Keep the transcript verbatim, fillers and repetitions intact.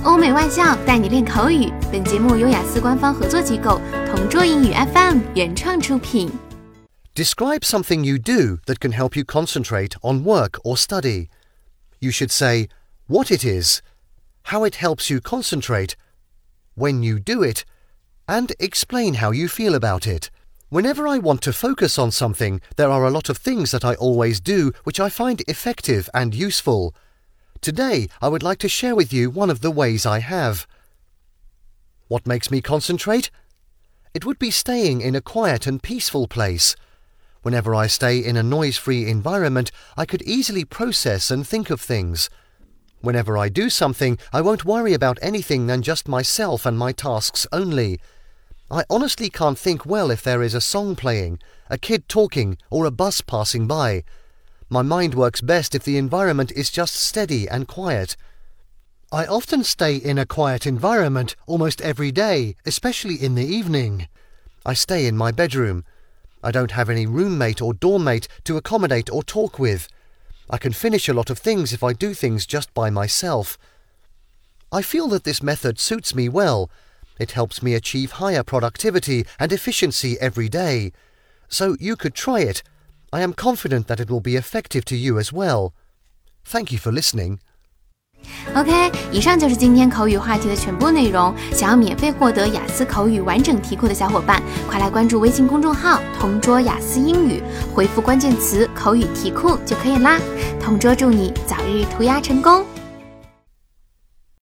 欧美外教带你练口语。本节目由雅思官方合作机构同桌英语 F M 原创出品。 Describe something you do that can help you concentrate on work or study. You should say what it is, how it helps you concentrate, when you do it, and explain how you feel about it. Whenever I want to focus on something, there are a lot of things that I always do which I find effective and useful. Today, I would like to share with you one of the ways I have. What makes me concentrate? It would be staying in a quiet and peaceful place. Whenever I stay in a noise-free environment, I could easily process and think of things. Whenever I do something, I won't worry about anything than just myself and my tasks only. I honestly can't think well if there is a song playing, a kid talking, or a bus passing by. My mind works best if the environment is just steady and quiet. I often stay in a quiet environment almost every day, especially in the evening. I stay in my bedroom. I don't have any roommate or dormmate to accommodate or talk with. I can finish a lot of things if I do things just by myself. I feel that this method suits me well. It helps me achieve higher productivity and efficiency every day. So you could try it. I am confident that it will be effective to you as well. Thank you for listening. OK， 以上就是今天口语话题的全部内容。想要免费获得雅思口语完整题库的小伙伴，快来关注微信公众号同桌雅思英语，回复关键词口语题库就可以啦。同桌祝你早日涂鸦成功。